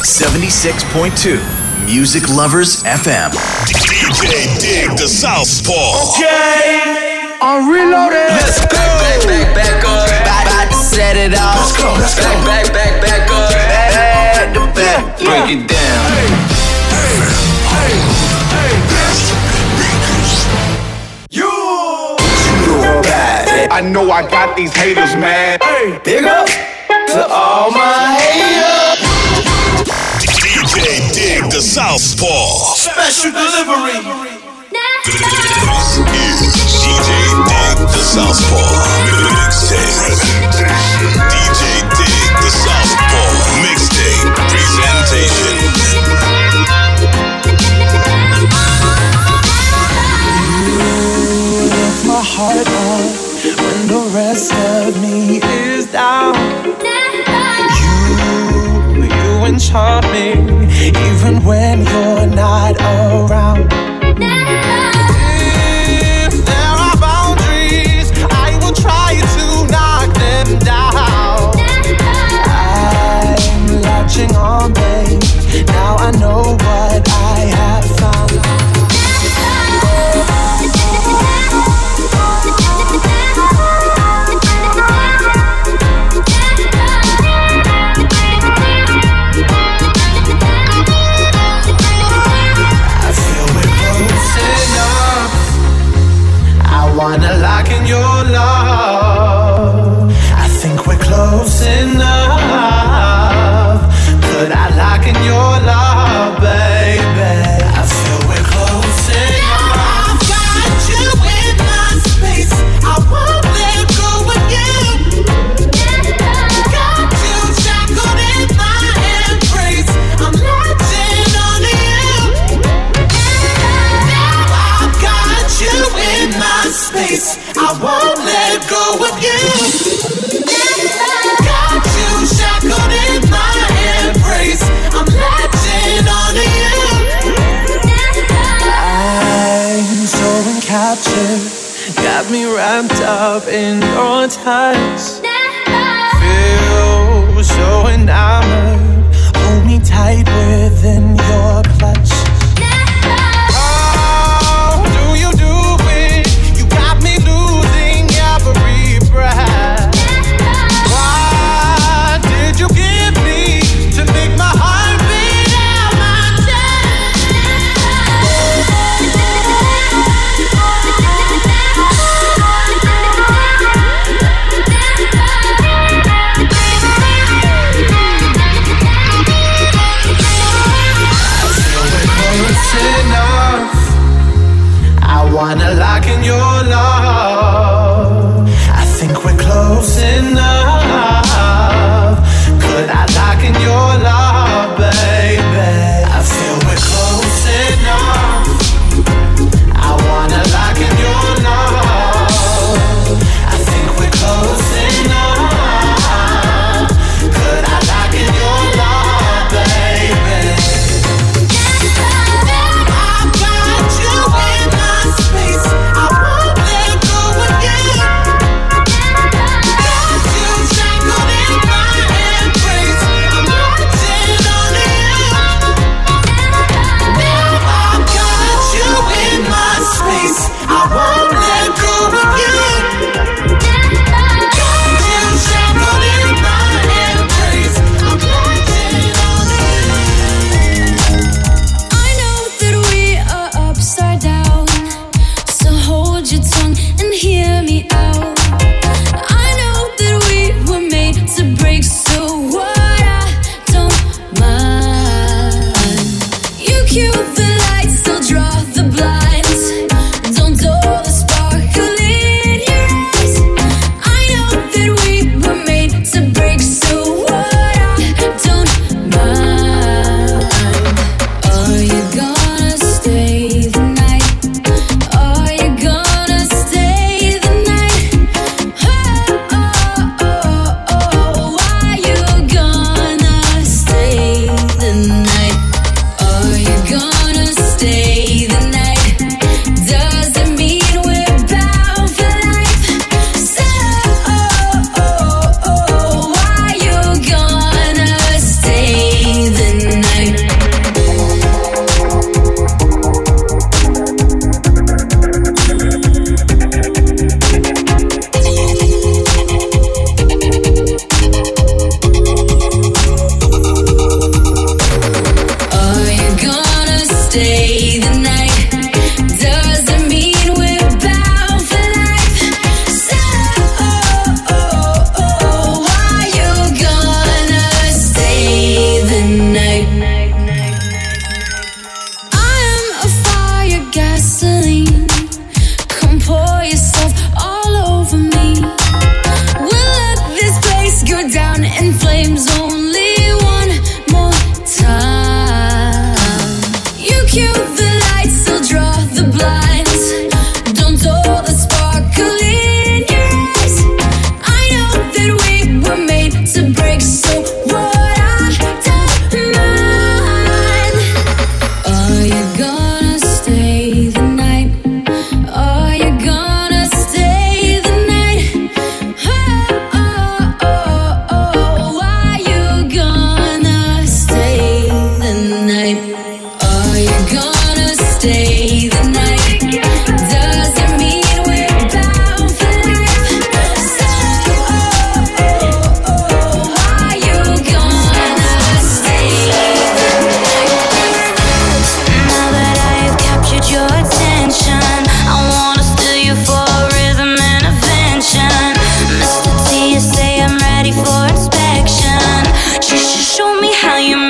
76.2 Music Lovers FM. DJ Dig the Southpaw. Okay, I'm reloaded. Let's go. Back up. About to set it off. Let's go. Back up. Back to back. Break it down. I know I got these haters mad. Big up to all my haters. DJ Dig the Southpaw. Special delivery. This is DJ Dig the Southpaw Mixtape. DJ Dig the Southpaw Mixtape Presentation. You lift my heart up when the rest of me is down. You enchant me even when you're not around. If there are boundaries, I will try to knock them down. I'm latching on, babe. Now I know what I have found. Wanna lock in your love. I think we're close enough. Could I lock in your love, baby? I feel we're close enough. I've got you in my space. I won't let go of you. Got you shackled in my embrace. I'm latching on to you. Now I've got you in my space. I won't let go of you. Got you shackled in my embrace. I'm latching on to you. I'm so encaptured, got me wrapped up in your touch. Feel so enamored, hold me tight within your clutch. What did you give me to make my heart beat out my chest?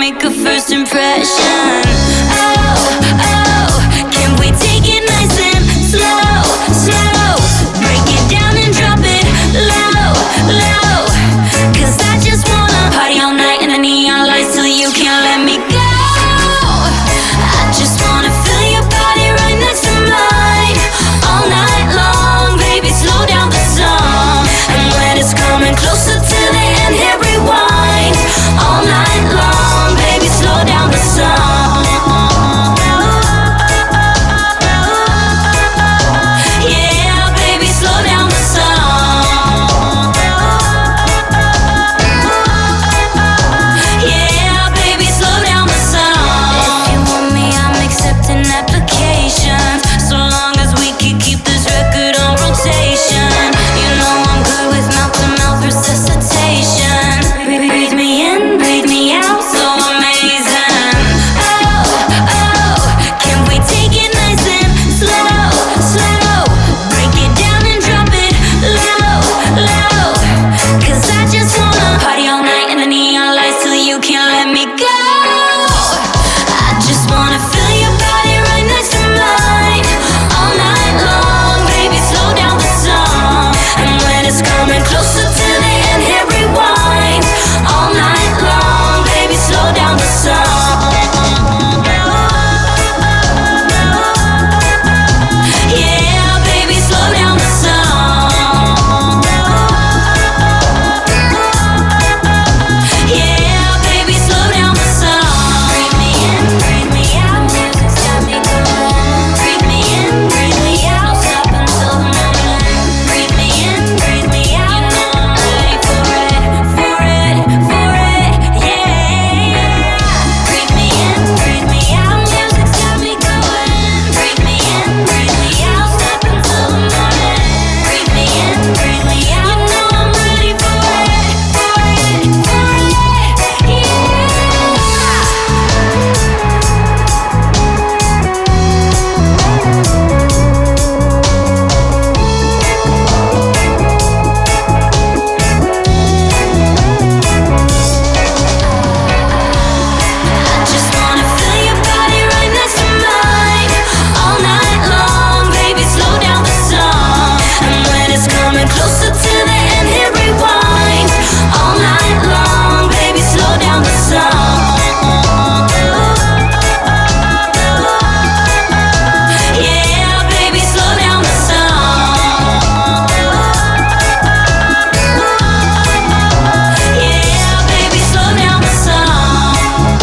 make a first impression. Oh, can we take it nice and slow, slow? Break it down and drop it low, low. 'Cause I just wanna party all night in the neon lights till you can't let me go. I just wanna feel your body right next to mine all night long, baby, slow down the song. And when it's coming closer to the end, hit rewind all night long, baby, slow down the song. Yeah, baby, slow down the song. Yeah, baby, slow down the song. If you want me, I'm accepting applications, so long as we can keep this record on rotation. You know I'm good with mouth-to-mouth resuscitation. Breathe me in, breathe me out, so amazing. Oh, can we take it nice and slow, slow? Break it down and drop it low, low. 'Cause I just wanna party all night in the neon lights till you can't let me go. I just wanna feel your body right next to mine all night long, baby, slow down the song. And when it's coming closer to the end, hit rewind all night long, baby, slow down the song. Yeah, baby, slow down the song. Yeah, baby, slow down the song. Breathe me in, breathe me out, music's got me going. Breathe me in, breathe me out, stop until the morning. Breathe me in, breathe me out, you know I'm ready for it, for it, for it, yeah. Breathe me in, breathe me out, music's got me going. Breathe me in, breathe me out, stop until the morning. Breathe me in, breathe me out, you know I'm ready for it, for it, for it, yeah. I just wanna feel your body right next to mine all night long, baby, slow down the song. And when it's coming closer to the end, hit rewind all night long, baby, slow down the song. Yeah, baby, slow down the song. Yeah, baby, slow down the song.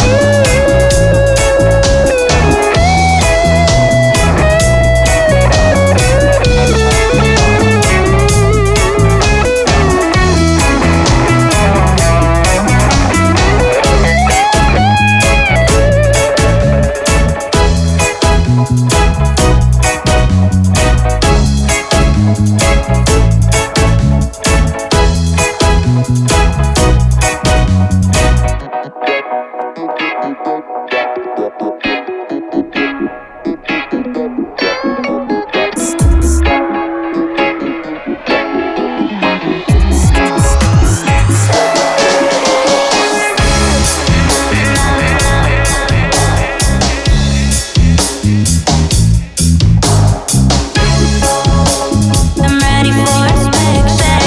I'm ready for inspection.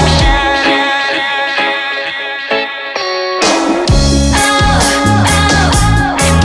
Oh,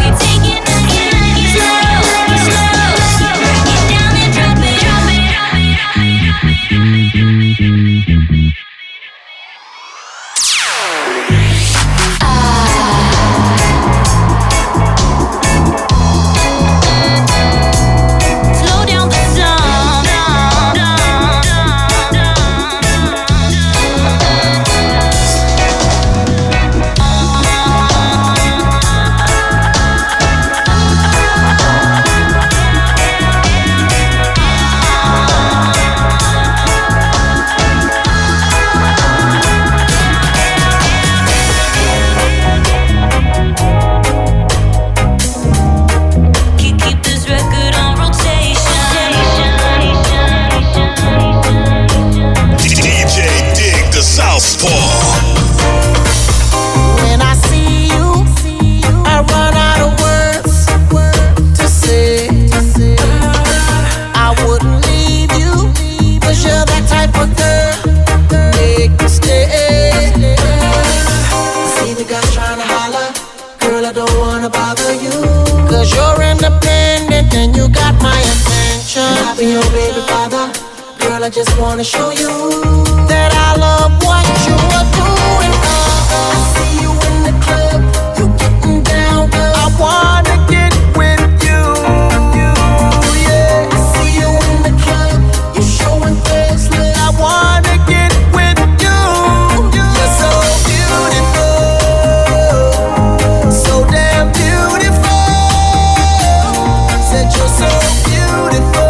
bother you. Cause you're independent and you got my attention. And I'll be your baby father. Girl, I just wanna show you that I love what you are doing. I see you in the club, you getting down, girl. I wanna get with you. Yeah, I see you in the club, you showing face love. I wanna get with you. You're so beautiful, so damn beautiful. Said you're so beautiful.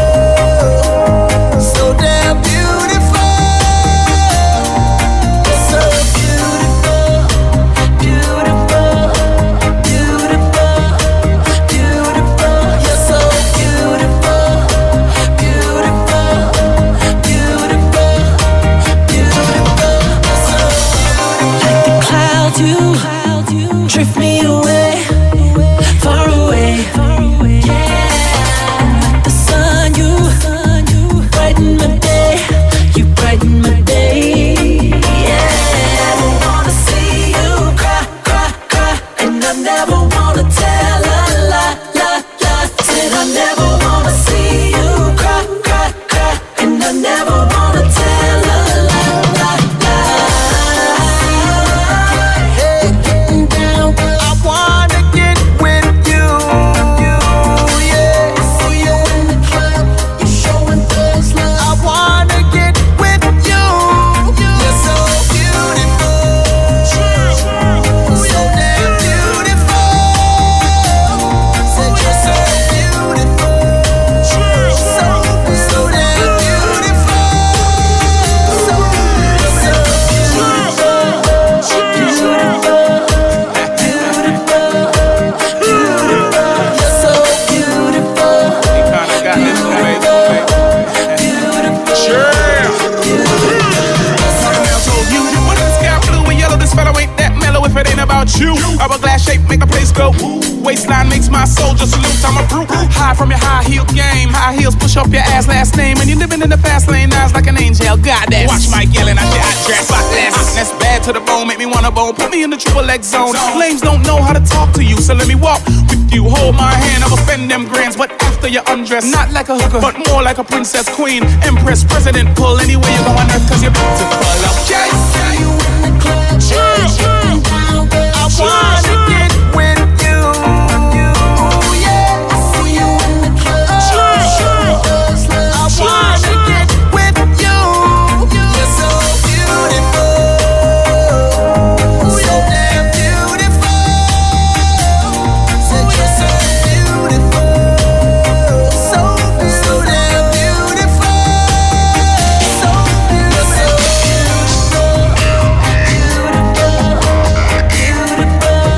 Drift me away, far away. Yeah, like the sun, you brighten my day. You brighten my day. Yeah, I never wanna see you cry, cry, cry, and I never wanna tell a lie, lie, lie. Said I never wanna see you cry, cry, cry, and I never wanna tell a lie, lie, lie. Hourglass shape make the place go. Waistline makes my soldier salute. I'm a brute. High from your high heel game. High heels push up your ass last name. And you're living in the fast lane. Eyes like an angel. Goddess. Watch Mike yelling at your hot dress. That's bad to the bone. Make me wanna bone. Put me in the triple X zone. Lames don't know how to talk to you. So let me walk with you. Hold my hand. I will spend them grands. But after you undress. Not like a hooker. But more like a princess, queen, empress, president. Pull anywhere you go on earth. Cause you're beautiful. Okay. See you in the club. I wanna get with you. Yeah, I see you in the club. I wanna get with you. You're so beautiful, so damn beautiful. Said you're so beautiful, so damn beautiful, so beautiful, beautiful.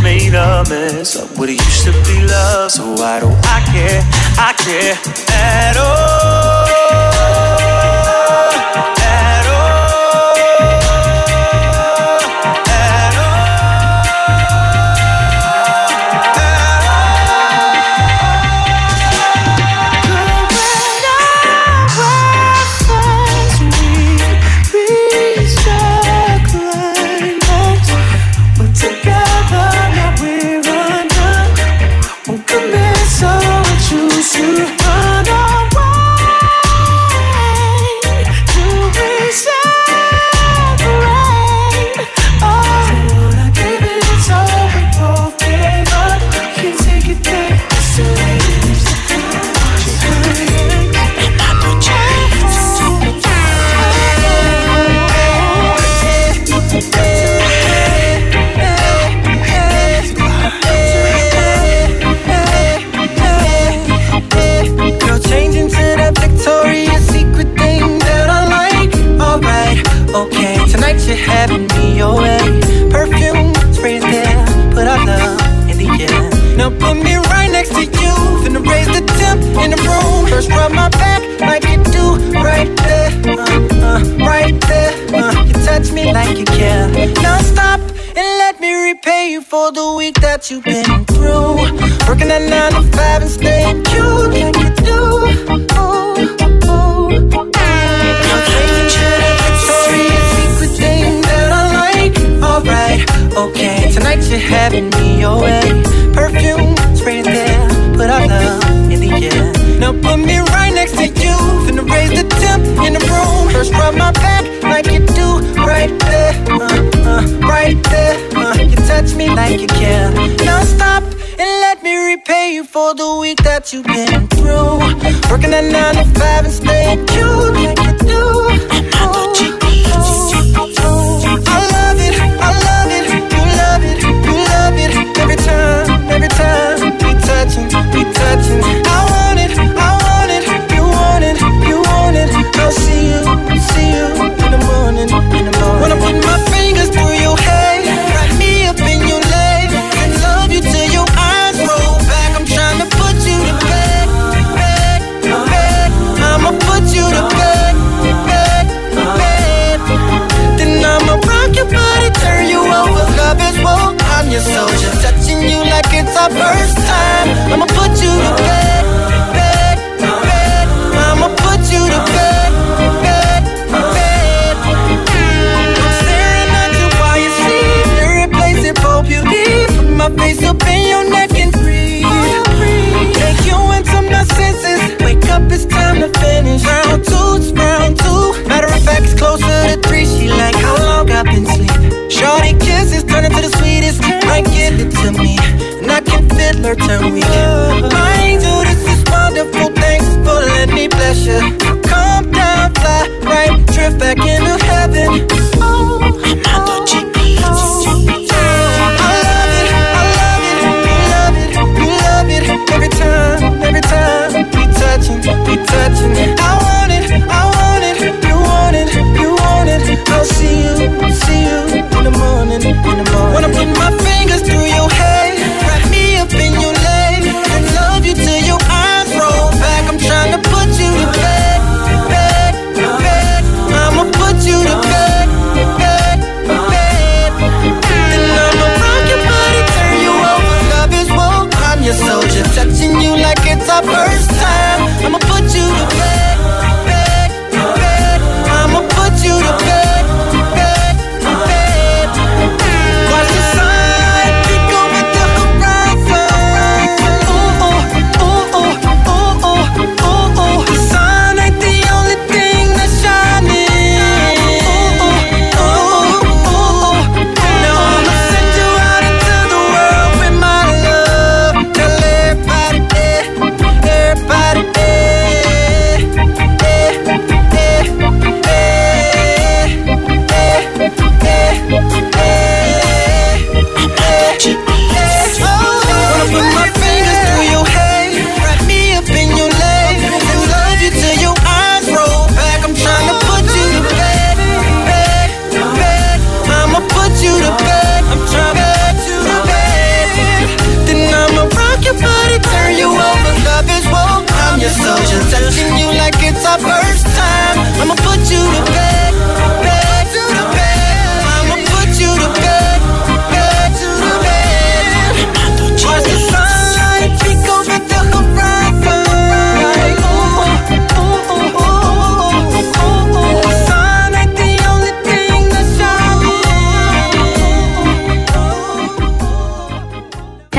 made a mess of what it used to be love. So why do I care at all? At all. At having me your way. Perfume, sprays there, put our love in the air. Now put me right next to you, finna raise the temp in the room. First rub my back like you do, right there, right there. You touch me like you care. Now stop and let me repay you for the week that you've been through. Working at 9 to 5 and staying cute like you do. Ooh, ooh. Now taking to the Victoria's Secret thing that I like. Alright, okay, tonight you're having me your way. Perfume, spray there, put our love in the air. Now put me right next to you, finna raise the temp in the room. First rub my back like you do, right there, right there. You touch me like you care. Now stop and let me repay you for the week that you've been through. Working at 9 to 5 and staying cute like you do. I love it, I love it, you love it, you love it. Every time we touching, we touching. I want it, I want it, you want it, you want it. I'll see you in the morning, in the morning. When I put my fingers through your hair, wrap me up in your leg, and love you till your eyes roll back. I'm trying to put you to bed, bed, bed. I'ma put you to bed, bed, bed. Then I'ma rock your body, turn you over. Love is war, I'm your soldier, touching you like it's our first time. I'ma put you to bed, bed, bed. I'ma put you to bed, bed, bed. I'm staring at you while you sleep, irreplaceable beauty. Put my face up in your neck and breathe. Take you into my senses. Wake up, it's time to finish. Round two, it's round two. Matter of fact, it's closer to 3. She like how long I've been sleeping. Shorty kisses turn into the sweetest. Might give it to me, and I can feel her turn weak. My angel, this is wonderful. Thanks for letting me bless you. Calm down, fly right, drift back into heaven. Oh, Armando GP. I love it, I love it, you love it, you love it. Every time we touching, we touching. I want it, I want it, you want it, you want it. I'll see you in the morning, in the morning. When I put my fingers through your hair, wrap me up in your leg, and love you till your eyes roll back. I'm trying to put you to bed, bed, bed. I'ma put you to bed, bed, bed. Then I'ma rock your body, turn you over. Love is war, I'm your soldier, touching you like it's our first time. I'ma put you to bed, bed, bed. I'ma put you to bed, bed, bed. Watch the sun peek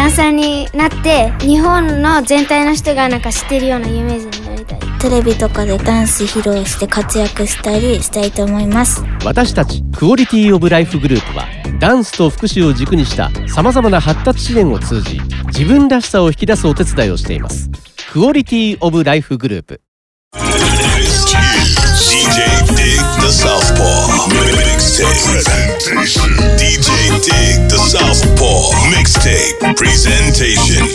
ダンサーになって日本の全体の人がなんか知ってるような有名人になりたい。 テレビとかでダンス披露して活躍したりしたいと思います。 私たちクオリティオブライフグループはダンスと福祉を軸にした様々な発達支援を通じ自分らしさを引き出すお手伝いをしています。クオリティオブライフグループ。 DJ Dig the Southpaw Mixtape DJ Dig the Southpaw Mixtape Presentation.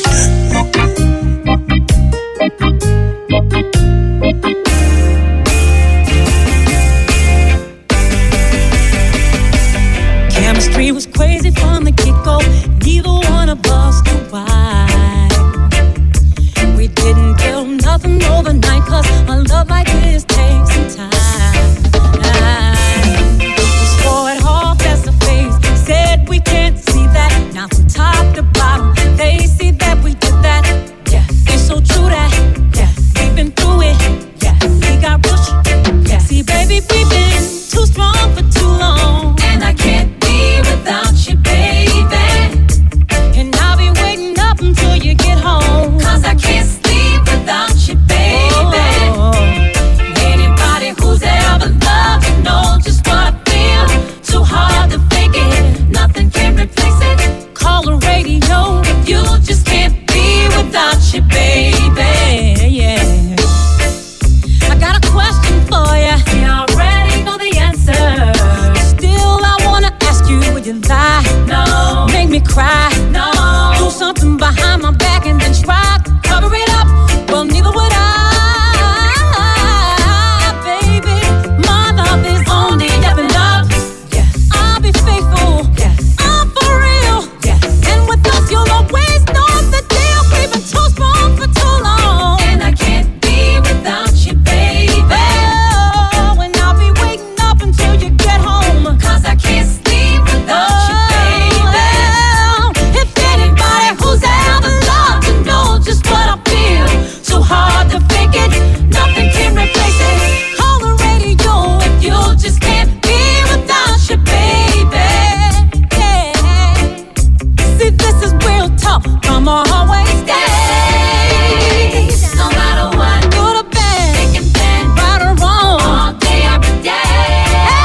Chemistry was crazy from the get-go. Neither one of us knew why. We didn't build nothing overnight, 'cause a love like this takes some time. We swore it off as a phase, said we can't see that. Now from top to bottom, they see that we did that. Yeah, it's so true that, yeah, we've been through it. Yeah, we got pushed. Yeah, see baby, we've been too strong for too long, and I can't be without you, baby. And I'll be waiting up until you get home, 'cause I can't sleep without you, baby. Anybody who's ever loved you know just what I feel. Too hard to fake it, nothing can replace it. Call the radio if you just can't be without you, baby. Yeah. I got a question for you. You already know the answer. Still, I wanna ask you, would you lie? No. Make me cry? No. Do something behind my back and then try to cover it up? Well, neither would I, baby. My love is only up and up. Yes. I'll be faithful. Yes. I'm for real. Yes. And with us, you'll always know the deal. We've been too strong for too long, and I can't be without you, baby. Oh, and I'll be waiting up until you get home, 'cause I can't sleep without you, baby. If anybody who's ever loved you know just what I feel. Too hard to fake it, nothing can replace it. Call the radio if you just can't be without you, baby. Yeah. See, this is real talk. I'ma always stay, no matter what. Good or bad, thick and thin, right or wrong, all day, every day.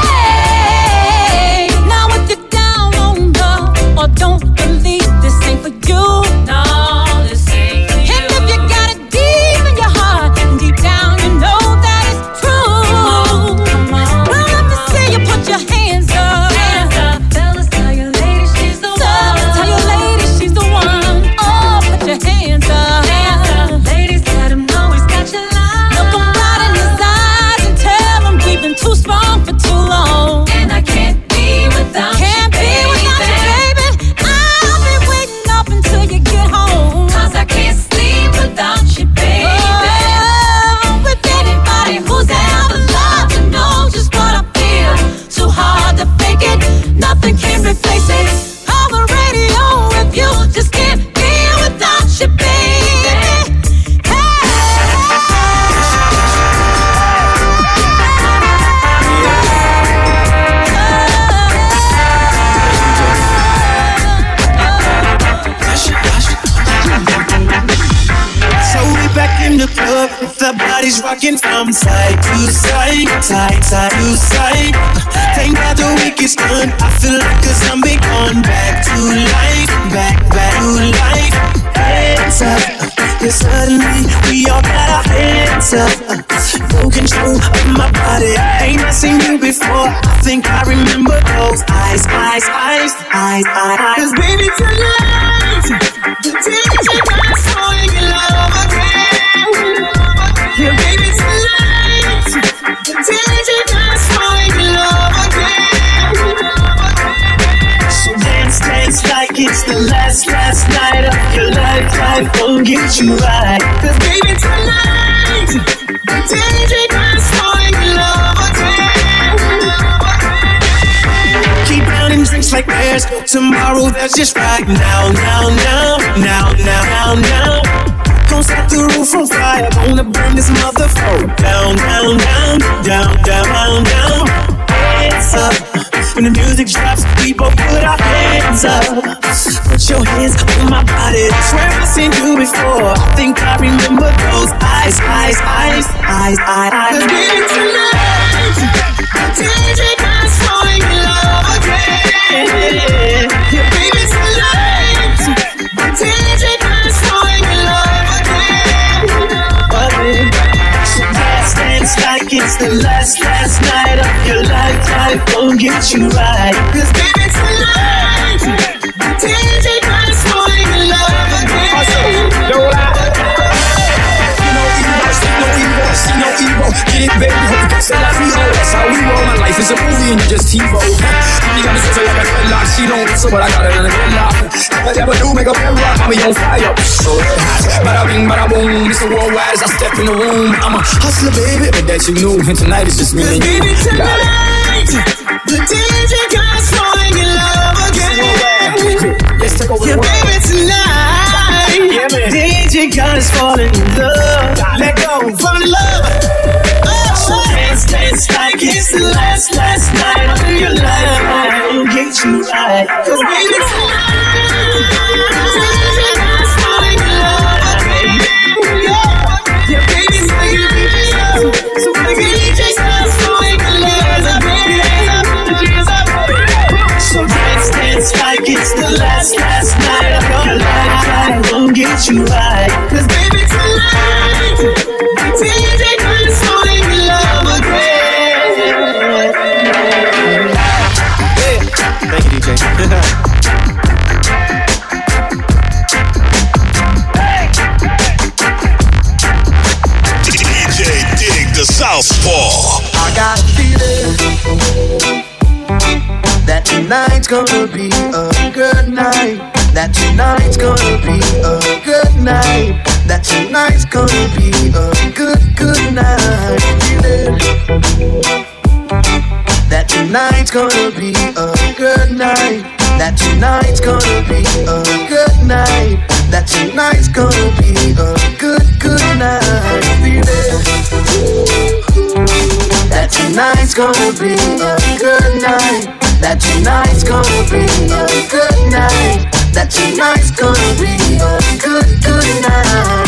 Hey, now if you're down on love or don't believe this ain't for you, no, this ain't for you. And if you got it deep in your heart, and deep down you know that it's true. Come on. Well, let me see you put your hands up. Hands up. Fellas, tell your lady she's the one. Tell your lady she's the one. Oh, put your hands up. Hands up. Ladies, let him know he's got your line. Look him right in his eyes and tell him we've been too strong for too long, and I can't be without you, baby. I'll be waiting up until you get home, 'cause I can't sleep without you, baby. Oh, with anybody who's ever loved you know just what I feel. Too hard to fake it, nothing can replace it. Call the radio if you just can't be without you, baby. So we back in the club, the bodies rocking from side to side, side to side. Thank God the week is done. I feel like a zombie going back to life, back to life. Hands up, yeah, suddenly we all got our hands up. No control of my body. Ain't I seen you before? I think I remember those eyes. 'Cause baby tonight, the DJ got falling in love again. Yeah, baby tonight, the DJ got falling in love again. So dance like it's the last night of your life. Life won't get you right. 'Cause baby tonight, the DJ got falling in love again. Keep pounding drinks like there's no tomorrow. That's just right now. Gonna set the roof on fire. Gonna burn this motherfucker down. Hands up, When the music drops, we both put our hands up. Put your hands on my body. Swear I've seen you before. I think I remember those eyes. Cause baby tonight, DJ got falling in love again. Yeah, baby tonight, DJ got falling in love again. So dance like it's the last night of your life. Life gon' get you right. Cause baby tonight, DJ got falling in love again. No lie. See no evil, get it baby, hope you can say like we owe. That's how we roll, my life is a movie and you just TiVo. You got me so like a dreadlock, she don't answer but I got it in a gridlock. Never do make a bed rock, I'm on fire. So bada bing, bada boom, it's a worldwide as I step in the room. I'm a hustler baby, but that you knew, and tonight is just me and you. Baby tonight, the DJ guy's falling in love again. Let's take over the world. Baby tonight, yeah, DJ guy's falling in love. Let go, fall in love. So dance like it's the last night of your life. I'll get you right. Cause baby tonight, DJ guy's falling in love again. Yeah, baby, so baby, DJ guy's falling in love again. So dance like it's the last night of your life. I'll get you right. Cause baby tonight, DJ guy's falling in love again. Yeah. Thank you, DJ. DJ Dig the Southpaw. I got a feeling that tonight's gonna be a good night. That tonight's gonna be a good night. That tonight's gonna be a good night. Feeling that tonight's gonna be a good night. That tonight's gonna be a good night. That tonight's gonna be a good night. Feeling that tonight's gonna be a good night. That tonight's gonna be a good night. That tonight's gonna be a good night.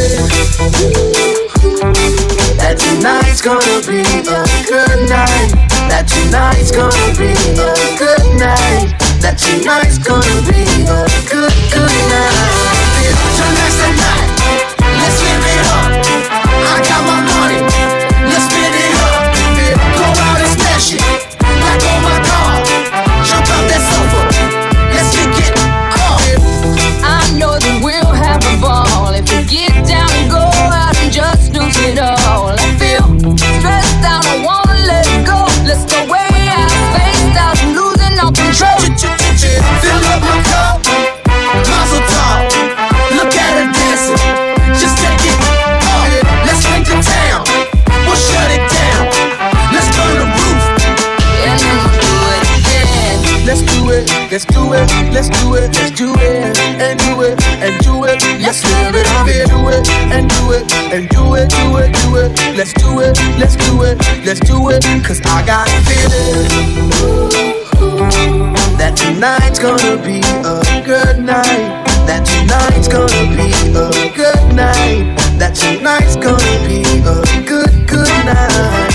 That tonight's gonna be a good night. That tonight's gonna be a good night. That tonight's gonna be a good night. Tonight's the night. Let's live it up. I got my money. Let's spend it up. Go out and smash it. Like on my car. Jump out that sofa. Let's get up. I know that we'll have a ball if we get down and go out and just lose it all. I feel stressed out, I wanna let it go. Let's go way out, spaced out, losing all control. Fill up my cup, mazel tov. Look at her dancing, just take it up. Let's paint the town, we'll shut it down. Let's burn the roof, and then we'll do it again. Let's do it, let's do it, let's do it, let's do it, and do it, and do it. Let's live it up here, do it, and do it, and do it, do it, do it. Let's do it, let's do it, let's do it. Cause I got a feeling that tonight's gonna be a good night. That tonight's gonna be a good night. That tonight's gonna be a good night.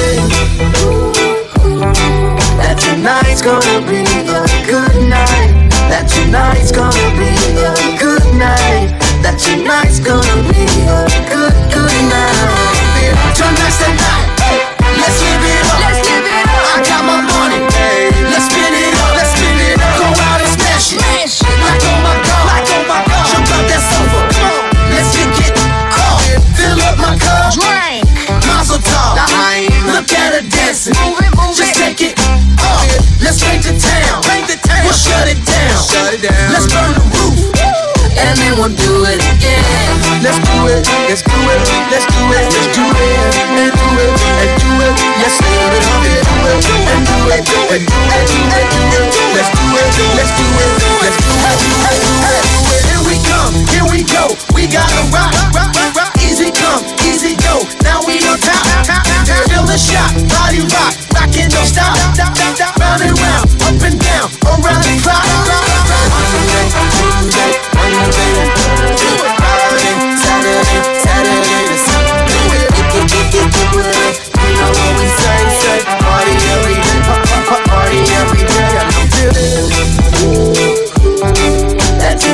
That tonight's gonna be a good night. That tonight's gonna be a good night. That tonight's gonna be a good night. Tonight's the night. Let's live it up. Let's live it up. I got my money. Let's spin it up. Let's spin it up. Go out and smash it. Like on my car. Like on my car. Jump out that sofa. Let's get up. Fill up my cup. Drink. Mazel tov. Look at her dancing. Move it, move Just it. take it up. Let's paint the town. We'll shut it down. Let's burn the roof. And then we'll do it again. Let's do it, let's do it, let's do it, let's do it, and do it, and do it. Let's live it up and do it, and do it, and do it, do it, do it. Let's do it, let's do it, let's do it. Here we come, here we go. We gotta rock, rock, rock, rock. Easy come, easy go. Now we on top, top, top. Feel the shot, body rock, rockin' don't stop, stop, stop, stop. Round and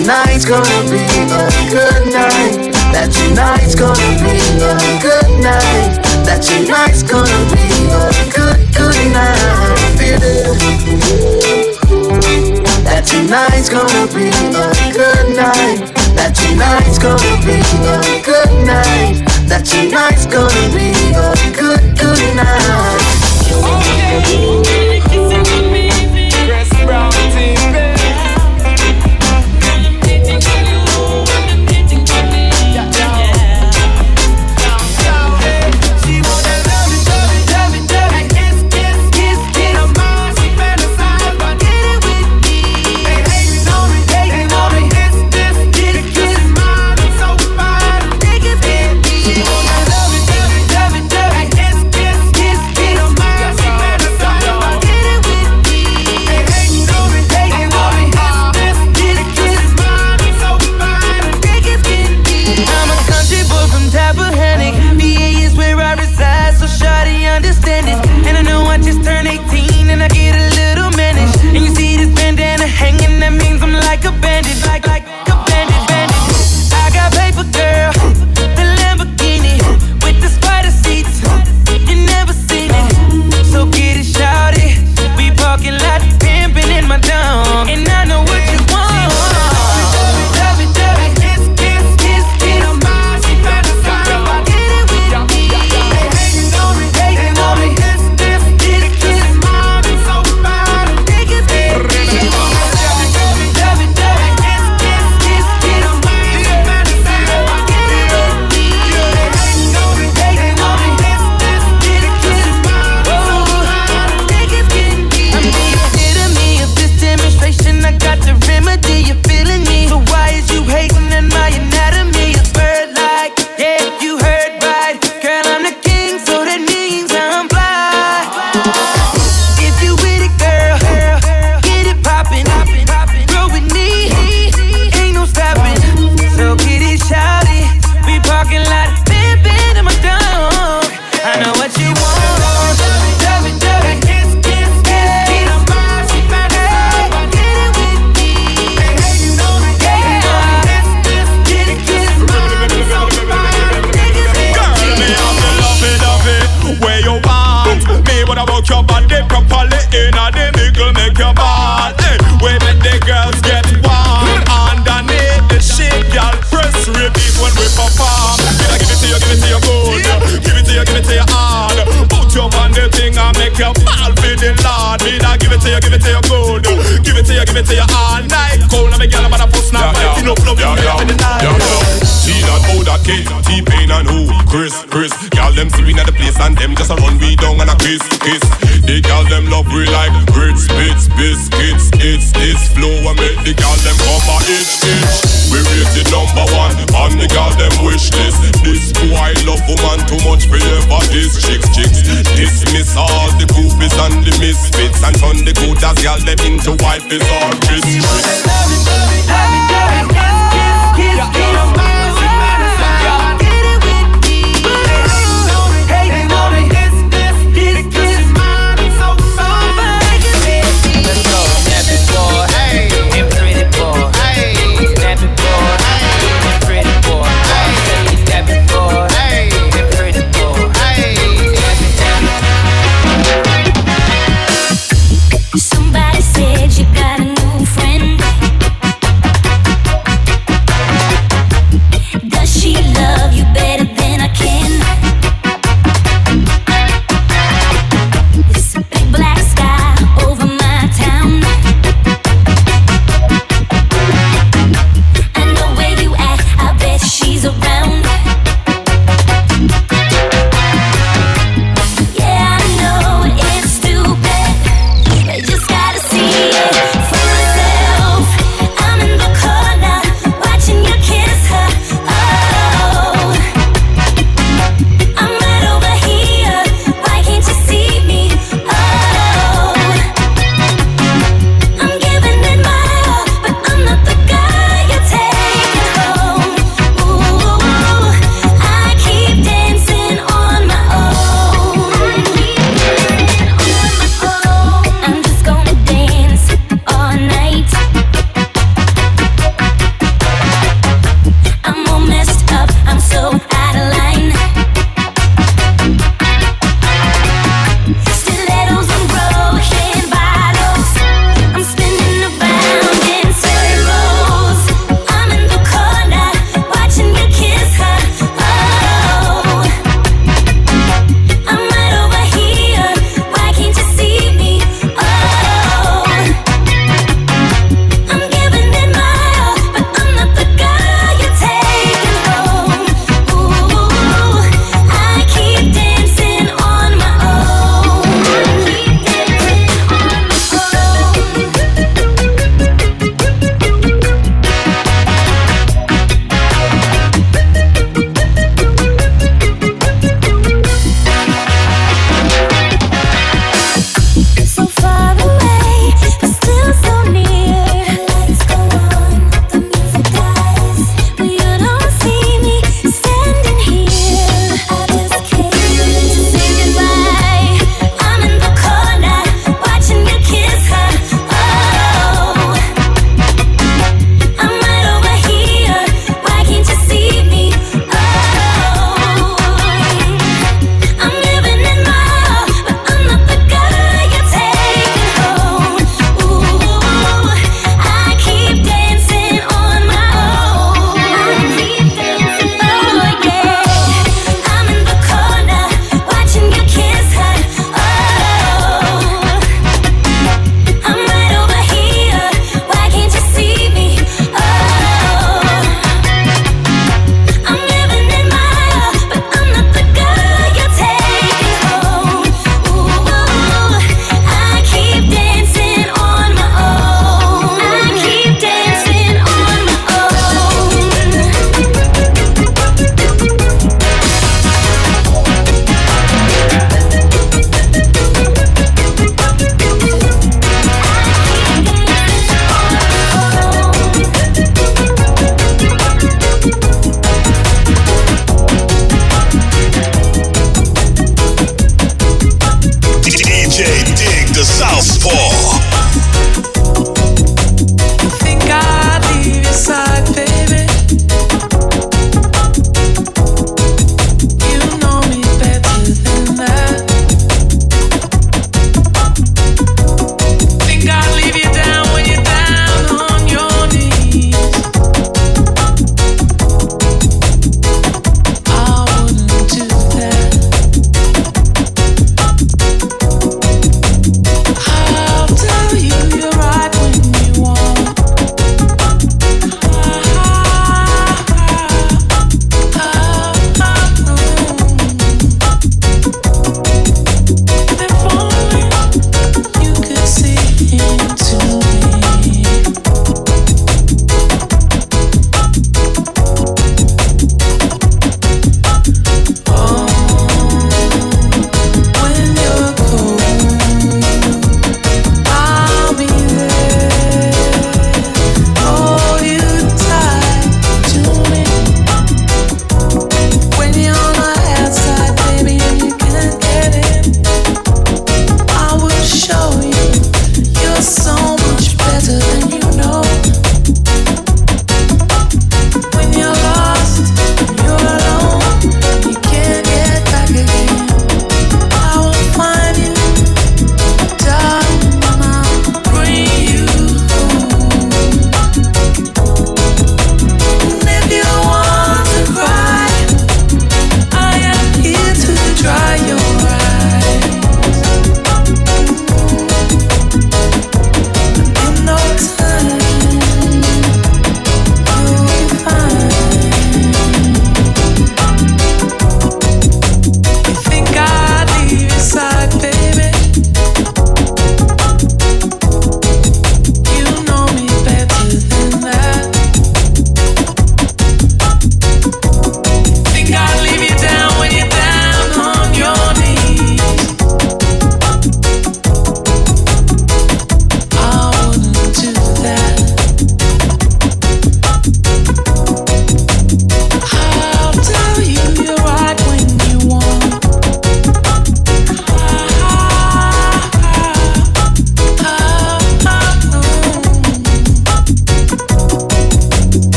tonight's gonna be a good night. That tonight's gonna be a good night. That tonight's gonna be a good night. Feel it. That tonight's gonna be a good night. That tonight's gonna be a good night. That tonight's gonna be a good night. Chris Brown TV. Chris, y'all them see we at the place and them just a run we down and a kiss. The y'all them love we like grits, bits, biscuits. It's this flow and make the y'all them come a itch. We rated number 1 on the y'all them wish list. This boy love woman too much for ever. This chicks. Dismiss all the groupies and the misfits and turn the good as y'all them into wifeys or Chris. Somebody said you got a new friend.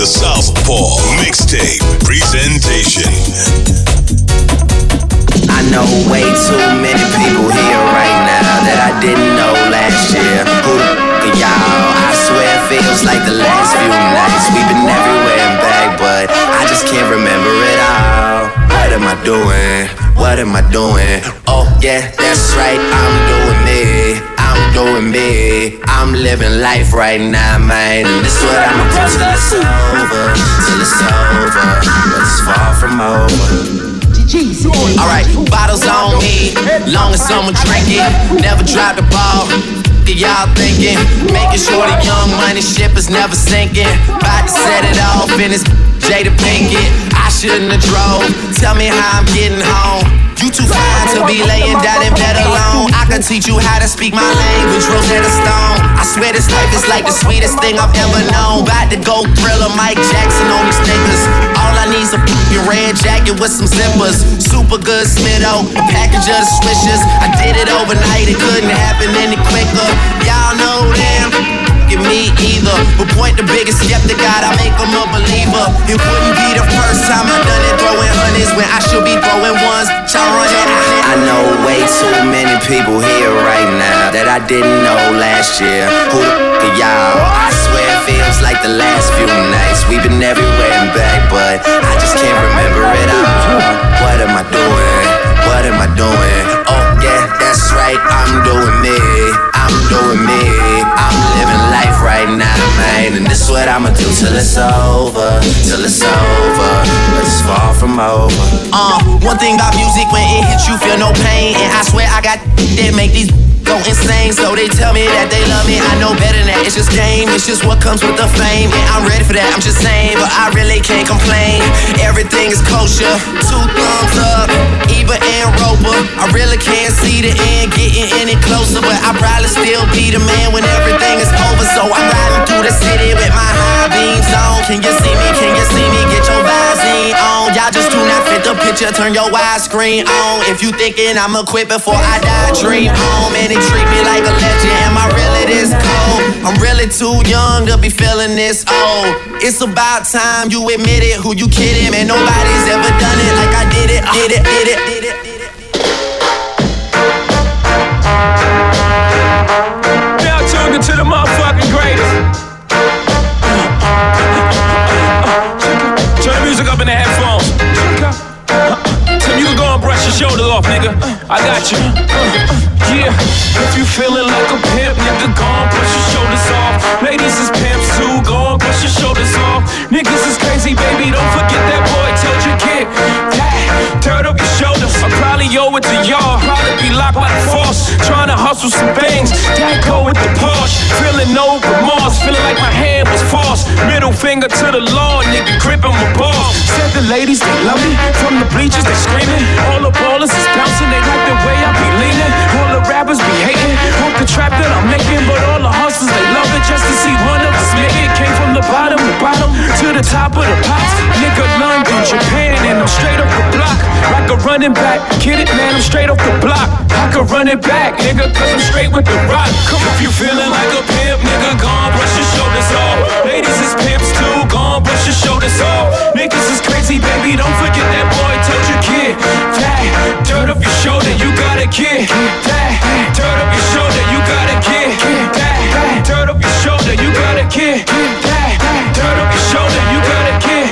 the Southpaw Mixtape Presentation. I know way too many people here right now that I didn't know last year. Who the f*** are y'all? I swear it feels like the last few nights. We've been everywhere and back, but I just can't remember it all. What am I doing? What am I doing? Oh yeah, that's right, I'm doing me. I'm doing me. I'm living life right now, man. And this is what I'ma do till it's over. Till it's over, but it's far from over. Alright, bottles on me, long as someone drink it. Never drop the ball, y'all thinking. Making sure the young money ship is never sinking. About to set it off in this Jada Pinkett. I shouldn't have drove, tell me how I'm getting home. You too fine to be laying down in bed alone. I can teach you how to speak my language, Rosetta Stone. I swear this life is like the sweetest thing I've ever known. About to go Thriller, Mike Jackson on these niggas. All I need's a f***ing red jacket with some zippers. Super good Smitto, a package of the swishers. I did it overnight, it couldn't happen any quicker. Y'all know them. Me either, but point the biggest skeptic out, I make him a believer. It wouldn't be the first time I done it, throwing honeys when I should be throwing ones. I know way too many people here right now that I didn't know last year. Who the f*** are y'all? I swear it feels like the last few nights. We've been everywhere and back, but I just can't remember it all. What am I doing? What am I doing? Oh yeah, that's right, I'm doing me. I'm doing me. I'm living life right now, man. And this is what I'ma do till it's over. Till it's over, but it's far from over. One thing about music, when it hits you, feel no pain. And I swear I got that make these go insane. So they tell me that they love me, I know better than that. It's just game, it's just what comes with the fame. And I'm ready for that, I'm just saying, but I really can't complain. Everything is kosher, 2 thumbs up, Eva and Roper. I really can't see the end getting any closer, but I probably still be the man when everything is over. So I'm riding through the city with my high beams on. Can you see me? Can you see me? Get your Visine on. Y'all just do not fit the picture, turn your widescreen on. If you thinking I'ma quit before I die, dream on. Man, they treat me like a legend. Am I really this cold? I'm really too young to be feeling this old. It's about time you admit it. Who you kidding? Man, nobody's ever done it like I did it. Did it, did it, did it, did it. Now tuned into the motherfucking greatest. Turn the music up in the headphones. So you can go and brush your shoulders off, nigga. I got you. Yeah, if you feeling like a pimp, nigga, go and brush your shoulders off. Ladies is pimps too, go and brush your shoulders off. Niggas is crazy, baby, don't forget that boy told you kid. Turn up your shoulders, I probably owe it to y'all. Probably be locked like force, trying to hustle some things. That go with the Porsche, feeling no remorse, feeling like my hand was forced. Middle finger to the law, nigga, gripping my balls. Said the ladies, they love me, from the bleachers they screaming. All the ballers is bouncing, they like the way I be leaning. All the rappers be hating, hope the trap that I'm making. But all the hustlers, they love it just to see one of us make it. Came from the bottom to the top of the pops. Nigga, London, Japan, and I'm straight up the block. Like a running back, get it, man, I'm straight off the block. I could run it back, nigga, cause I'm straight with the rock. Come on, if you feeling like a pimp, nigga, go on, brush your shoulders off. Ladies is pimps too, go on, brush your shoulders off. Niggas is crazy, baby, don't forget that boy told you kid. Dirt up your shoulder, you got a kid. Dirt up your shoulder, you got a kid. Dirt up your shoulder, you got a kid. Dirt up your shoulder, you got a kid.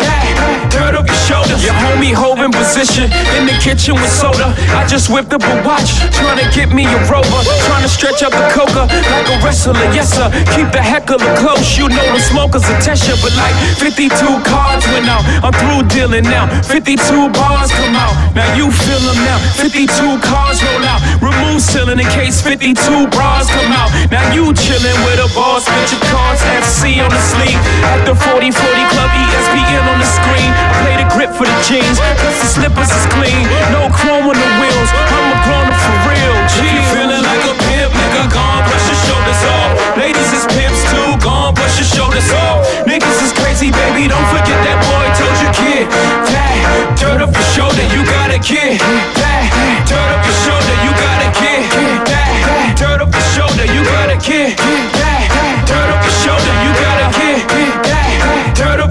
Dirt up your shoulder. Your homie holding position in the kitchen with soda. I just whipped up a watch, trying to get me a rover. Trying to stretch up the coca like a wrestler, yes sir. Keep the heckler close, you know the smokers will test you. But like 52 cards went out, I'm through dealing now. 52 bars come out, now you feel them now. 52 cars roll out, remove ceiling in case 52 bras come out. Now you chillin' with a boss, bitch your cards FC on the sleeve. At the 40-40 Club ESPN on the screen. I play the grip for the jeans, cause the slippers is clean. No chrome on the wheels, I'm a grown-up for real. If you feeling like a pimp, nigga, go on, brush your shoulders off. Ladies is pimps too, go on, brush your shoulders off. Niggas is crazy, baby, don't forget that boy told you kid. Dirt up your shoulder, you got a kid. Dirt up your shoulder, you got a kid. Dirt up your shoulder, you got a kid. Dirt up your shoulder, you got a kid. Dirt up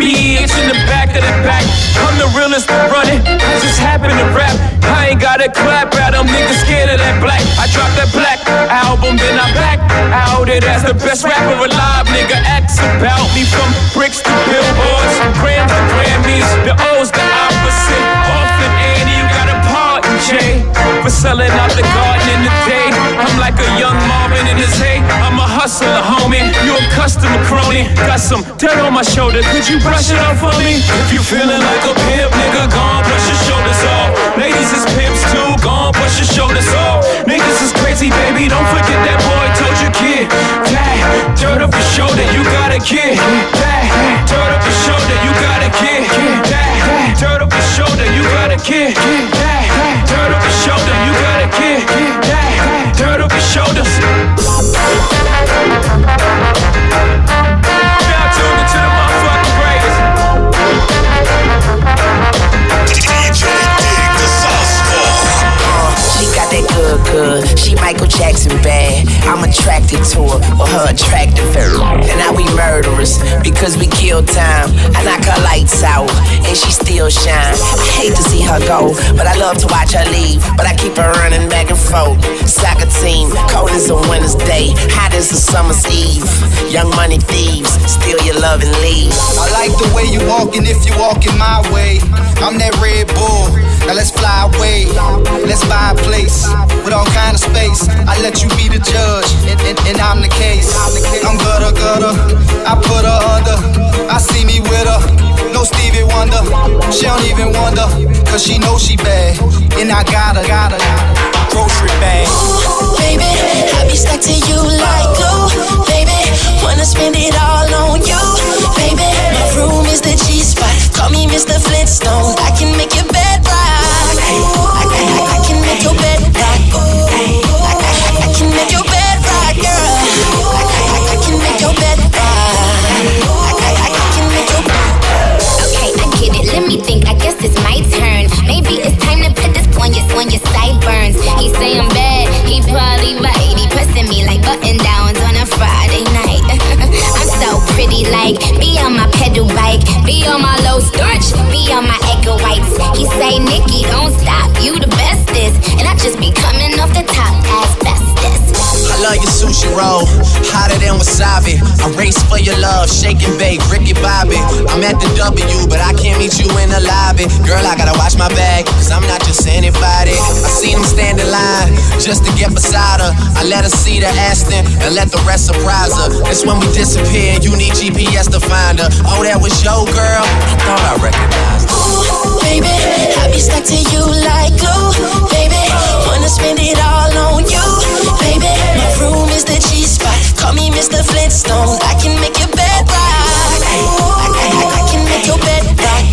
bitch in the back of the pack. I'm the realest to run it. I just happen to rap. I ain't gotta clap at them niggas scared of that black. I dropped that black album, then I back out it as the best rapper alive. Nigga acts about me from bricks to billboards, grams to Grammys. The O's the opposite. Often Annie, you got a pardon Jay for selling out the garden in the day. I'm like a young Marvin in his hay. I'm a hustler, homie. You a customer crony. Got some dirt on my shoulder. Could you brush it off for me? If you feeling like a pimp, nigga, gon' brush your shoulders off. Ladies is pimps too, gon' brush your shoulders off. Niggas is crazy, baby. Don't forget that boy told you, kid. That dirt up your shoulder, you got a kid. That dirt up your shoulder, you got a kid. That dirt up your shoulder, you got a kid. That dirt up your shoulder, you got a kid. That dirt up your shoulders. Y'all tuned into the motherfucking greatest. DJ Dig the Southpaw. She got that good. She Michael Jackson bad. I'm attracted to her, or her attractive her. And now we murderers, because we kill time. I knock her lights out, and she still shine. I hate to see her go, but I love to watch her leave. But I keep her running back and forth. Soccer team, cold as a winter's day, hot as a summer's eve. Young money thieves, steal your love and leave. I like the way you walking if you walking my way. I'm that Red Bull, now let's fly away. Let's buy a place with all kind of space. I let you be the judge, and I'm the case. I'm gutter, I put her under. I see me with her, no Stevie Wonder. She don't even wonder, cause she knows she bad. And I got her grocery bag. Ooh, baby, I be stuck to you like glue. Baby, wanna spend it all on you. Baby, my room is the G-spot. Call me Mr. Flintstone. I can make your bed rock. I can make your bed rock. I can make your bed rock, girl. I can make your bed rock. I can make your bed. Okay, I get it. Let me think. I guess it's my turn. Maybe it's time to put this on your sideburns. He say I'm bad. He probably right. He pressing me like button downs on a Friday night. I'm so pretty, like be on my pedal bike, be on my low starch, be on my Eggo Whites. He say, Nikki, don't stop, you the bestest, and I just be coming off the top as bestest. I love your sushi roll, hotter than wasabi. I race for your love, shake and bake, Ricky Bobby. I'm at the W, but I can't meet you in the lobby. Girl, I gotta watch my bag, cause I'm not just anybody. I seen him stand in line, just to get beside her. I let her see the Aston, and let the rest surprise her. It's when we disappear, you need GPS to find her. Oh, that was your girl? I thought I recognized her. Ooh, baby, I be stuck to you like glue. Baby, wanna spend it all on you. Baby, my room is the G-spot. Call me Mr. Flintstone. I can make your bed rock. I can make your bed rock.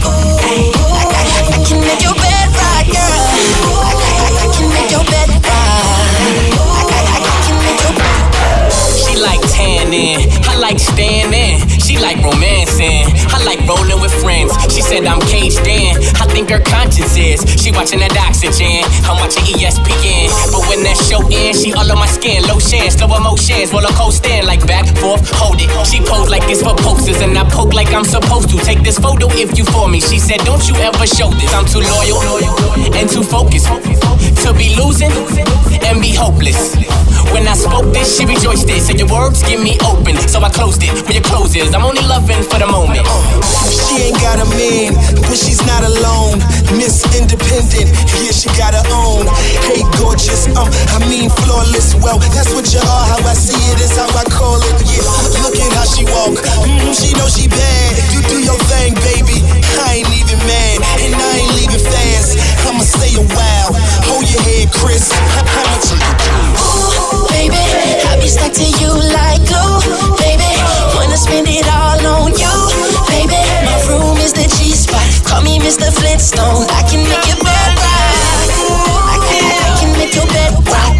I can make your bed rock, girl. I can make your bed rock. I can make your bed rock. She like tanning, I like standing. She like romancing, I like rolling with friends. She said I'm caged in, I think her conscience is. She watching that oxygen, I'm watching ESPN. But when that show ends, she all on my skin. Lotion, slow emotions, roller coaster like back, forth, hold it. She pose like it's for posters, and I poke like I'm supposed to. Take this photo if you for me. She said don't you ever show this. I'm too loyal and too focused to be losing and be hopeless. When I spoke this, she rejoiced it. Said your words give me open, so I closed it. When your close is, I'm only loving for the moment. She ain't got a man, but she's not alone. Miss Independent, yeah, she got her own. Hey, gorgeous, I mean flawless. Well, that's what you are. How I see it is how I call it. Yeah, look at how she walk. She know she bad. You do your thing, baby. I ain't even mad, and I ain't leaving fast. I'ma stay a while. Hold your head, Chris. I'ma take it down. Ooh, baby, I be stuck to you like glue. Baby, wanna spend it all on you. Baby, my room is the G-spot. Call me Mr. Flintstone. I can make your bed rock. I can make your bed rock.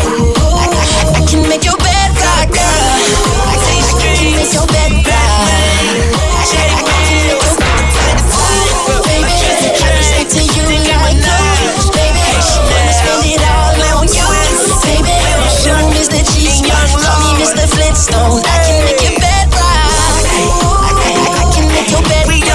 I can make your bed rock, girl. I can make your bed rock. Baby, I be stuck to you like glue. Baby, wanna spend it all on you. Baby, my room is the G-spot. Call me Mr. Flintstone. I can make your bed rock. I can make your bed rock.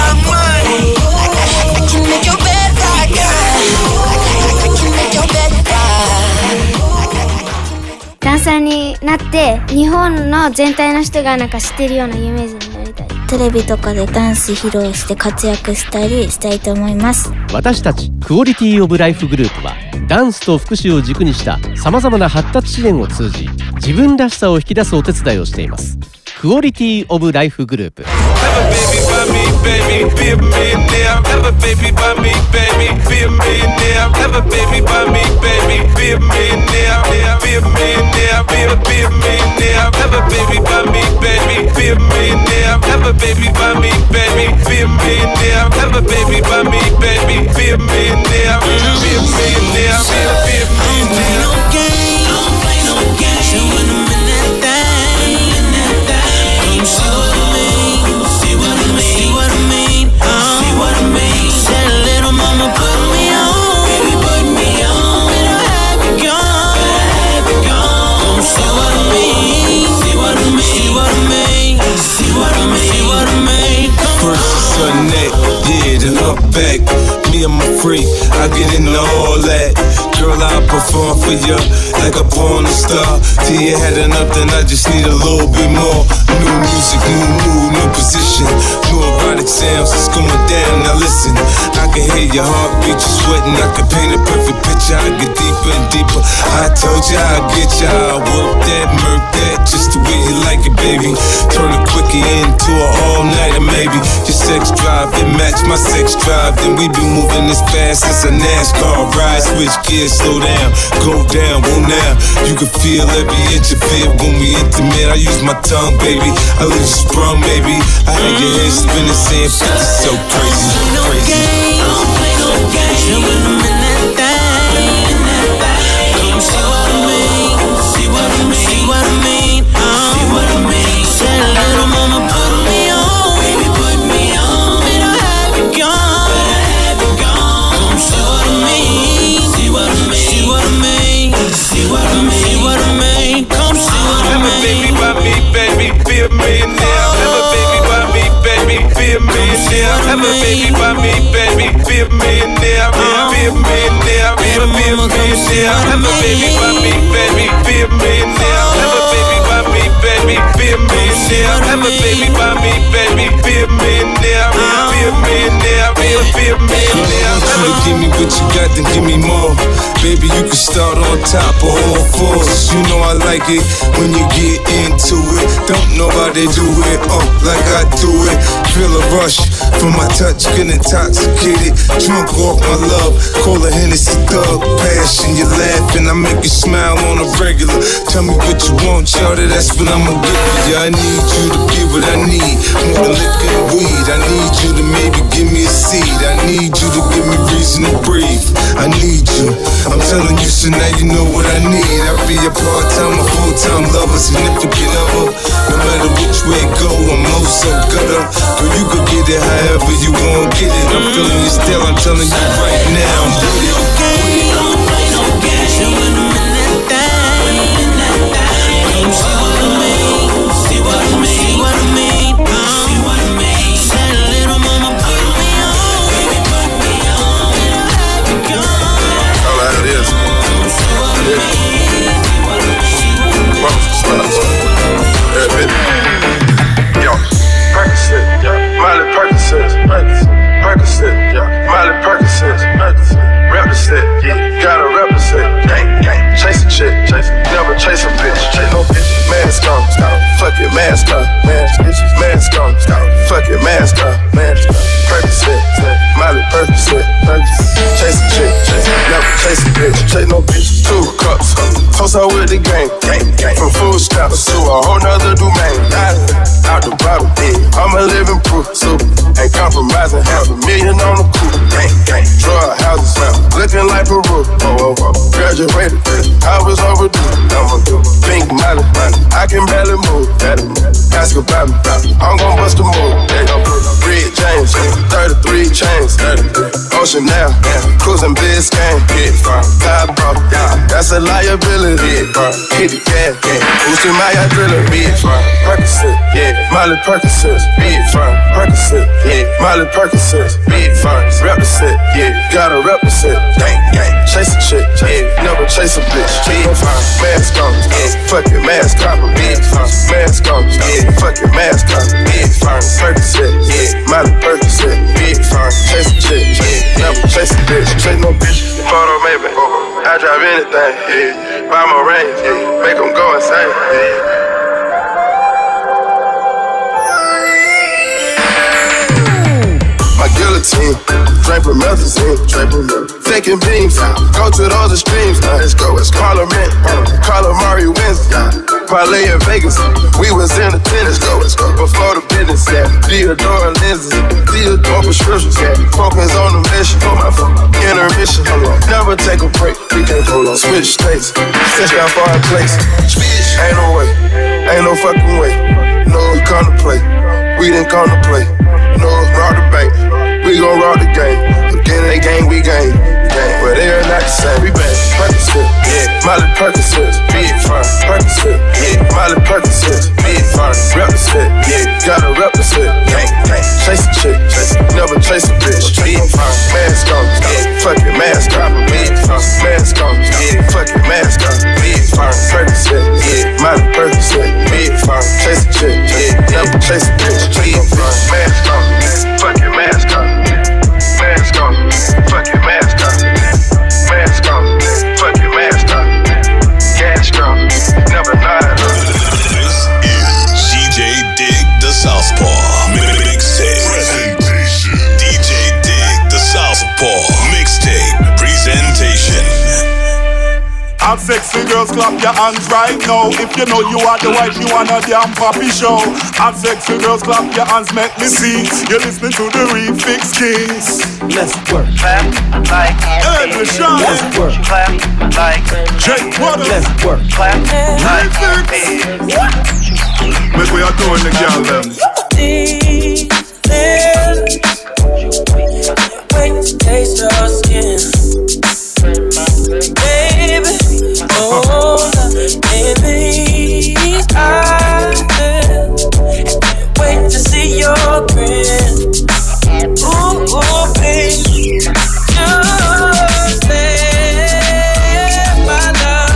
で日本の全体の人がなんか知ってるような有名人になりたい。 テレビとかでダンス披露して活躍したりしたいと思います。 私たちクオリティオブライフグループはダンスと福祉を軸にしたさまざまな発達支援を通じ自分らしさを引き出すお手伝いをしています。クオリティオブライフグループ。 Back, me and my freak, I get into all that. Girl, I'll perform for you like a porn star. Till you had enough, then I just need a little bit more. New music, new mood, new position. New erotic sounds, it's going down. Now listen, I can hear your heartbeat, you're sweating. I can paint a perfect picture, I get deeper and deeper. I told you I'd get you, I'll work that, murk that, just the way you like it, baby. Turn a quickie into an all-nighter, maybe. Your sex drive, it match my sex drive. Then we be moving as fast as a NASCAR ride. Switch gears, slow down, go down, whoa now. You can feel every inch of it when we intimate. I use my tongue, baby, I leave you sprung, baby. I had your head spinning, saying 50 so crazy, crazy. Don't play no games, and when I'm in that thing, come see what I mean, see what I mean, see what I mean, see what I mean. Said a little mama put me on, baby put me on, and I have it gone, come see what I mean, see what I mean, see what I mean, see what I mean, see what I mean, come see what I mean. Have a baby by me, baby, be a millionaire. Have a baby by me, baby, be a millionaire. Have a baby by me, baby, be a millionaire. Be a millionaire, be a millionaire. Have a baby by me, baby, be a millionaire. Have a baby by me, baby, be a millionaire. Have a baby by me, baby, be a millionaire. Be a millionaire, be a millionaire. Give me what you got, then give me more. Baby, you can start on top of all fours. You know I like it when you get into it. Don't know how they do it, like I do it. Feel a rush from my touch, get intoxicated. Drunk off my love, call a Hennessy thug. Passion, you laughing, I make you smile on a regular. Tell me what you want, shawty, that's what I'ma give you. I need you to give what I need, more than liquor and weed. I need you to maybe give me a seed. I need you to give me reason to breathe. I need you, I'm telling you, so now you know what I need. I'll be a part-time, a full-time lover, significant other. No matter which way it go, I'm so gutter. Girl, you could get it however you want, get it. I'm feeling you still, I'm telling you right now, I'm with it. Don't play no games, and when I'm in that thing, come see what I mean, see what I mean, see what I mean, see what I mean. Said a little mama put me on, baby put me on, and I have it gone. All right, it is. Yo, Percocet, yeah, Miley Percocet, Percocet, yeah, Miley Percocet, represent, yeah, gotta represent, gang, chase a chick, never chase a bitch, chase no bitch, mask on, fuck your mask on, mask on, fuck your mask on, Percocet, Miley Percocet, chase a chick, never chase a bitch, chase no bitch, 2 cups, toast out with the gang, from food stamps to a whole nother domain, out the bottom, I'm a living proof, so ain't compromising, $500,000 on the coupe, drug houses, looking like Peru, graduated, I was overdue, I'm a pink Miley, I can barely move, ask about me, I'm gon' bust a move, red James, 33 chains, Ocean now, cruising Biscayne, top bro, that's a liability, hit the gas, boosting my adrenaline, Percocet, Molly Percocet, Percocet, Molly Percocet, represent, gotta represent, chase a chick, never chase a bitch, mask on, fucking mask on, mask on, fucking mask on, Percocet, Molly Percocet, chase a chick, never chase a bitch, chase no bitch, photo maybe, I drive anything, buy my range, make them go insane, My guillotine, Draper Methazine, taking beams, go to those extremes, let's go, it's Parliament, Calamari wins, parlay in Vegas, we was in attendance, let's go, before the business, Theodore lenses, Theodore prescriptions, focus on the mission, intermission, never take a break, we can't hold on, switch states, stitch down for our place, ain't no way, ain't no fucking way, no, we come to play, we didn't come to play. No, rob the bank, we gon' rob the game. Again, they gang, we gang. But they are not the same. We bang, Percocet, Molly Percocet, Percocet, Molly Percocet, represent, gotta represent. Chase a chick, never chase a bitch. Mask on, fucking mask on, mask on, fucking mask on. Percocet, Molly Percocet, chase a chick, never chase a bitch. Mask on. Fucking mask on, mask on, fucking mask on, mask on, fucking mask on, gas on, never lied. This is DJ Dig the Southpaw Mixtape Presentation. DJ Dig the Southpaw Mixtape Presentation. All sexy girls, clap your hands right now. If you know you are the wife, you want a damn poppy show. All sexy girls, clap your hands, make me see. You're listening to the Refix Kings. Let's work. Clap like Let's work. Clap like Jake Water. Let's work. Clap like Make we are doing the girl them. Wait to taste your skin. Baby, hold up in these eyes. Wait to see your grin. Ooh, baby, just let my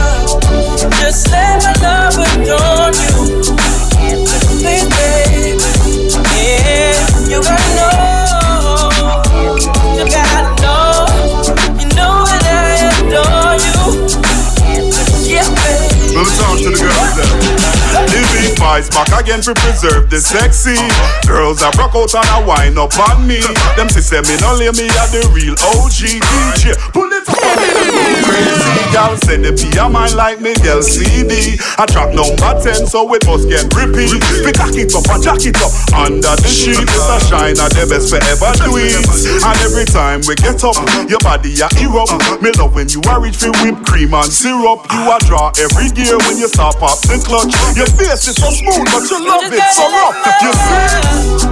love adorn you. Please, baby, yeah, you gotta know, you gotta know, you know that I adore you. Yeah, baby. Let me talk to the girls then. Living Vice back again to preserve the sexy. Girls are broke out and a wine up on me. Them say me no lay me at the real OG DJ. Pull it up crazy. Y'all send the P of mine like Miguel CD. I track number 10 so it must get repeat. We cock it up and jack it up under the sheet. It's a shine at the best forever tweets. And every time we get up, your body a erupt. Me love when you are reach for whipped cream and syrup. You a draw every gear when you start pop the clutch. Your face is so smooth but you love it so rough. You see?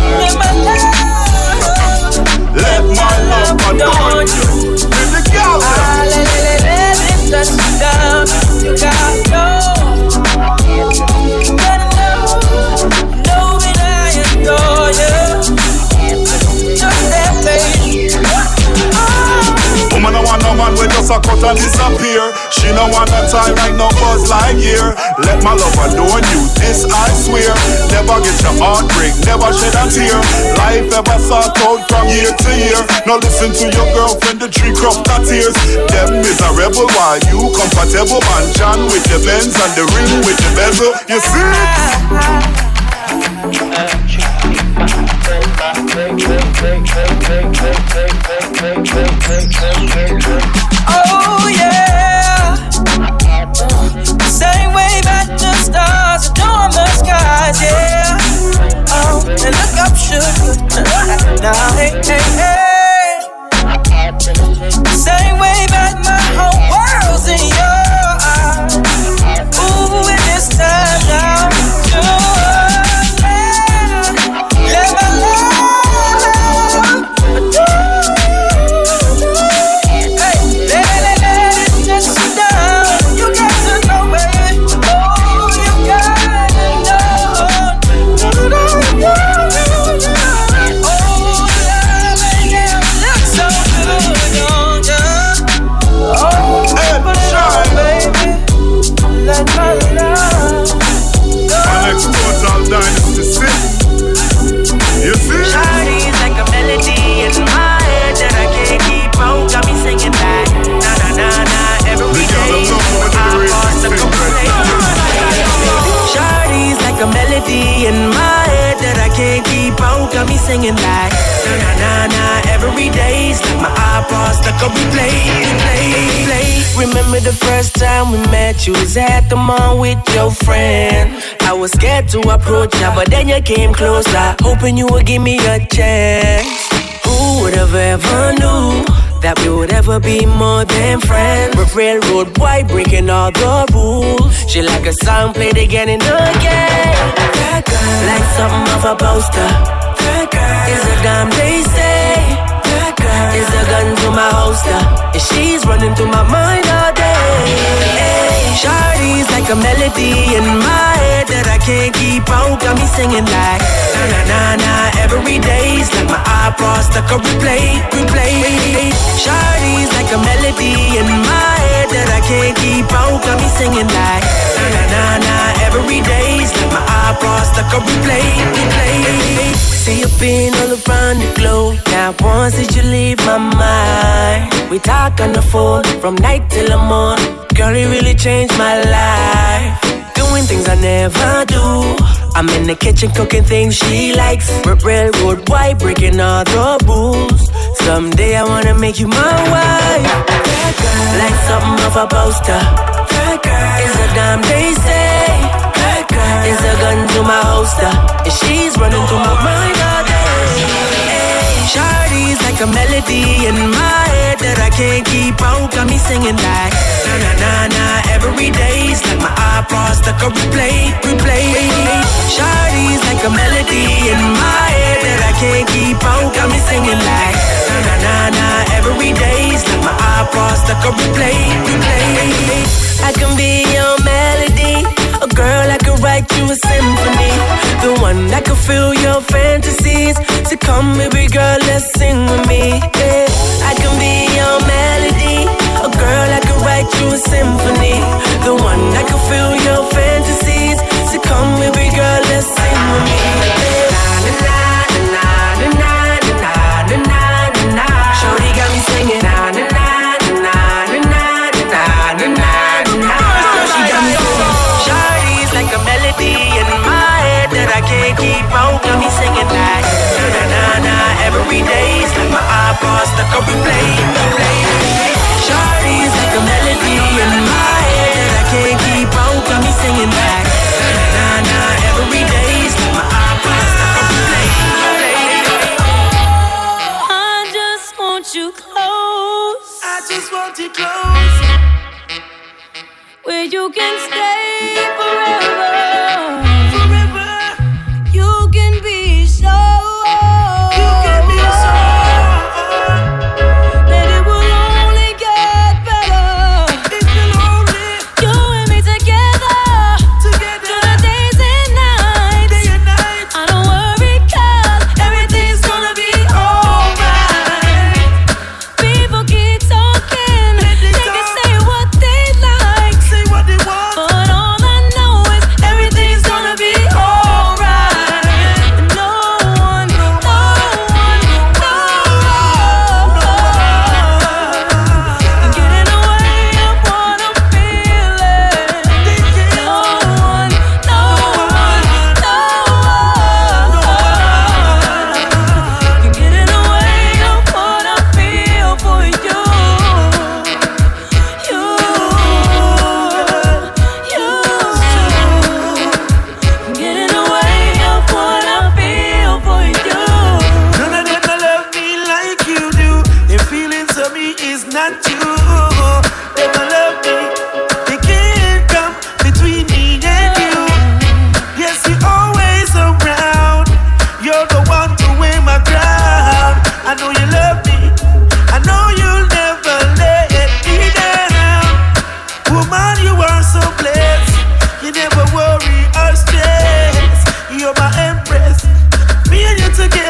Let my love adorn you. With the girl let it touch you down. You gotta know. You gotta know that I adore you. Just that baby. Woman don't want no man with just a cut and disappear. She don't want a tie like no Buzz Lightyear. Let my love adorn you, this I swear. Never get your heart break, never shed a tear. Life ever sought out from year to year. Now listen to your girlfriend, the tree crop that tears. Them miserable while you comfortable. Man John with the Benz and the ring with the bezel. You see? Oh yeah. Same way that the stars adorn the skies, yeah. Oh, and look up, sugar. Now, hey, hey, hey. Same way that my whole world's in your eyes. Ooh, and this time now, let my love adore like a melody in my head that I can't keep out. Got me singing like na na na na. Every day's like my iPod stuck on replay. Remember the first time we met? You was at the mall with your friend. I was scared to approach you, but then you came closer, hoping you would give me a chance. Who would have ever knew that we would ever be more than friends? We're railroad boy breaking all the rules. She like a song played again and again. That girl, like something off a poster. That girl is a dime they say. That girl is a gun to my holster. And she's running through my mind all day. Shawty's like a melody in my head that I can't keep out. Got me singing like na na na na. Every day's like my iPod stuck on replay. Shawty's like a melody in my head that I can't keep out. Got me singing like na na na na. Every day's like my iPod stuck on replay. See you been all around the globe. Now once did you leave my mind? We talk on the phone from night till the morning. Girl, it really changed my life. Doing things I never do. I'm in the kitchen cooking things she likes. Railroad boy breaking all the rules. Someday I wanna make you my wife. That girl, like something off a poster. That girl is a dime they say. That girl is a gun to my holster. And she's running through my mind all day. Shawty's like a melody in my head that I can't keep out. Got me singing like na na na na. Every day's like my iPod stuck on replay. Shawty's like a melody in my head that I can't keep out. Got me singing like na na na na. Every day's like my iPod stuck on replay. I can be your melody, a girl I could write you a symphony, the one that could fill your fantasies. So come, baby girl, let's sing with me. Yeah. I can be your melody, a girl I could write you a symphony, the one that could fill your fantasies. So come, baby girl, let's sing with me. Yeah. Na na na na na na na na na. Shorty got me singing na na na na na na na na. Like a melody in my head that I can't keep out. Got me singing like na na na na. Every day's like my iPod stuck on replay. Shawty's like a melody in my head that I can't keep out. Got me singing like na na na na. Every day's like my iPod stuck on replay. I just want you close. I just want you close, where you can stay forever. You're my empress, me and you together.